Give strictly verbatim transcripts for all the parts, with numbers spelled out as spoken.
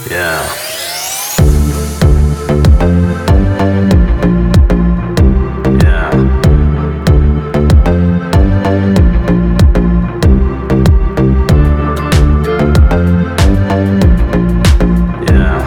Yeah. Yeah. Yeah.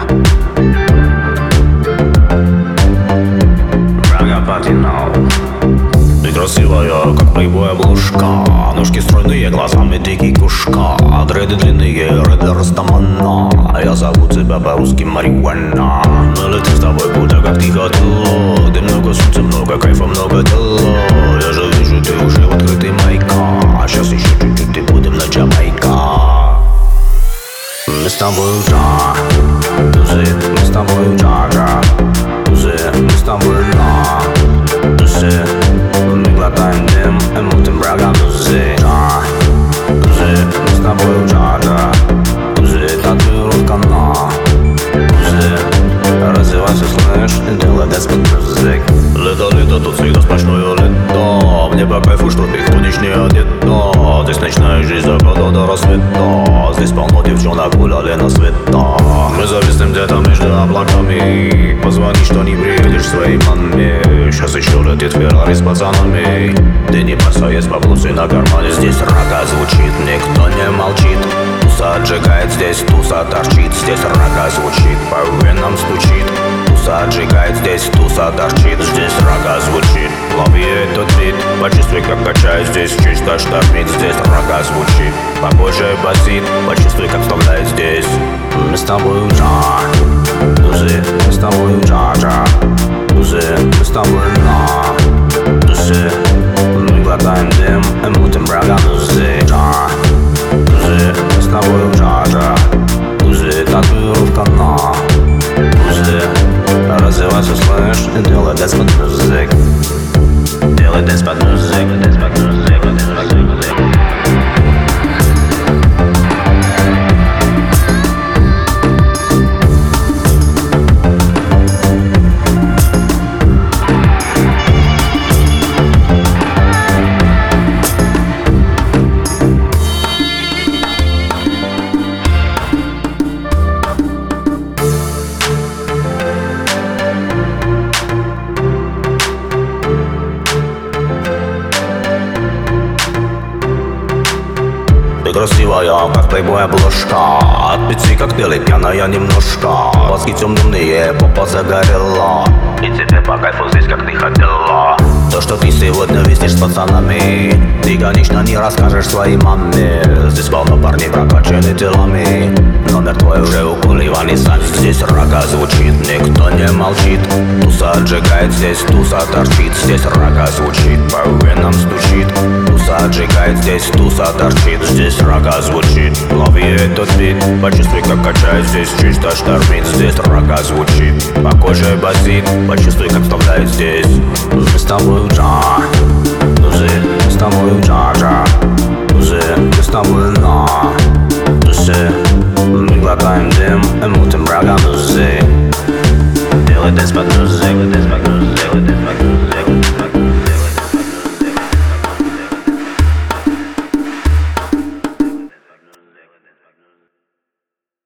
Рага патинал. Ты красивая, как плейбой обложка. Ножки стройные, глазами дикий кушка. Дреды длинные, рэд Растамана. Я зову тебя по-русски Марихуана. Мы летим с тобой куда, как ты хотела. Ты много солнца, много кайфа, много дела. Я же вижу, ты уже в открытый майка. Сейчас еще чуть-чуть и будем на Джамайка. Мы с тобой джа, тузы, мы с тобой джа-джа. Тузы, мы с тобой на тузы. Мы глотаем дым и мутим врага тузы. Джа, тузы, мы с тобой джа-джа. Тузы, татуировка на тузы. Развивайся, слышь, и делай деспот музык. Лето, лето, тут всегда сплошное лето. Мне по кайфу, что ты ходишь не одета. Здесь ночная жизнь заката до рассвета. Здесь полно девчонок гуляли на света. Мы зависнем где-то между облаками. Позвони, что не приедешь своей маме. Сейчас еще летит Феррари с пацанами. Ты не бойся, есть баблосы на кармане. Здесь рага звучит, никто не молчит. Туса отжигает, здесь туса торчит. Здесь рага звучит, по венам стучит. Туса отжигает, здесь туса торчит. Здесь рага звучит, лови этот бит. Почувствуй, как качает, здесь чисто штормит. Здесь рага звучит, по коже басит. Почувствуй, как вставляет здесь. Мы с тобой джа, тузы, мы с тобой джа-джа. Тузы, мы с тобой на тузы. Мы глотаем дым и мутим врага тузы. Джа, тузы, мы с тобой джа-джа. Тузы, татуировка на тузы. Развивайся, слышь, и делай дэнс под музык. Делай дэнс под музык, дэнс под музык, дэнс под музык. Ты красивая, как плейбой обложка. Отпейте коктейли, пьяная немножко. Глазки темные, попа загорела. И тебе по кайфу здесь, как ты хотела. То, что ты сегодня виснешь с пацанами, ты, конечно, не расскажешь своей маме. Здесь полно парней прокачаны телами. Номер твой уже у Куливани сам. Здесь рага звучит, никто не молчит. Туса отжигает, здесь туса торчит. Здесь рага звучит, по венам стучит. Туса отжигает, здесь туса торчит. Здесь рага звучит, лови этот бит. Почувствуй, как качает, здесь чисто штормит. Здесь рага звучит, по коже басит. Почувствуй, как вставляет здесь. Мы с тобой джа, тузы, мы с тобой джа-джа. Тузы, мы с тобой на тузы. Мы глотаем дым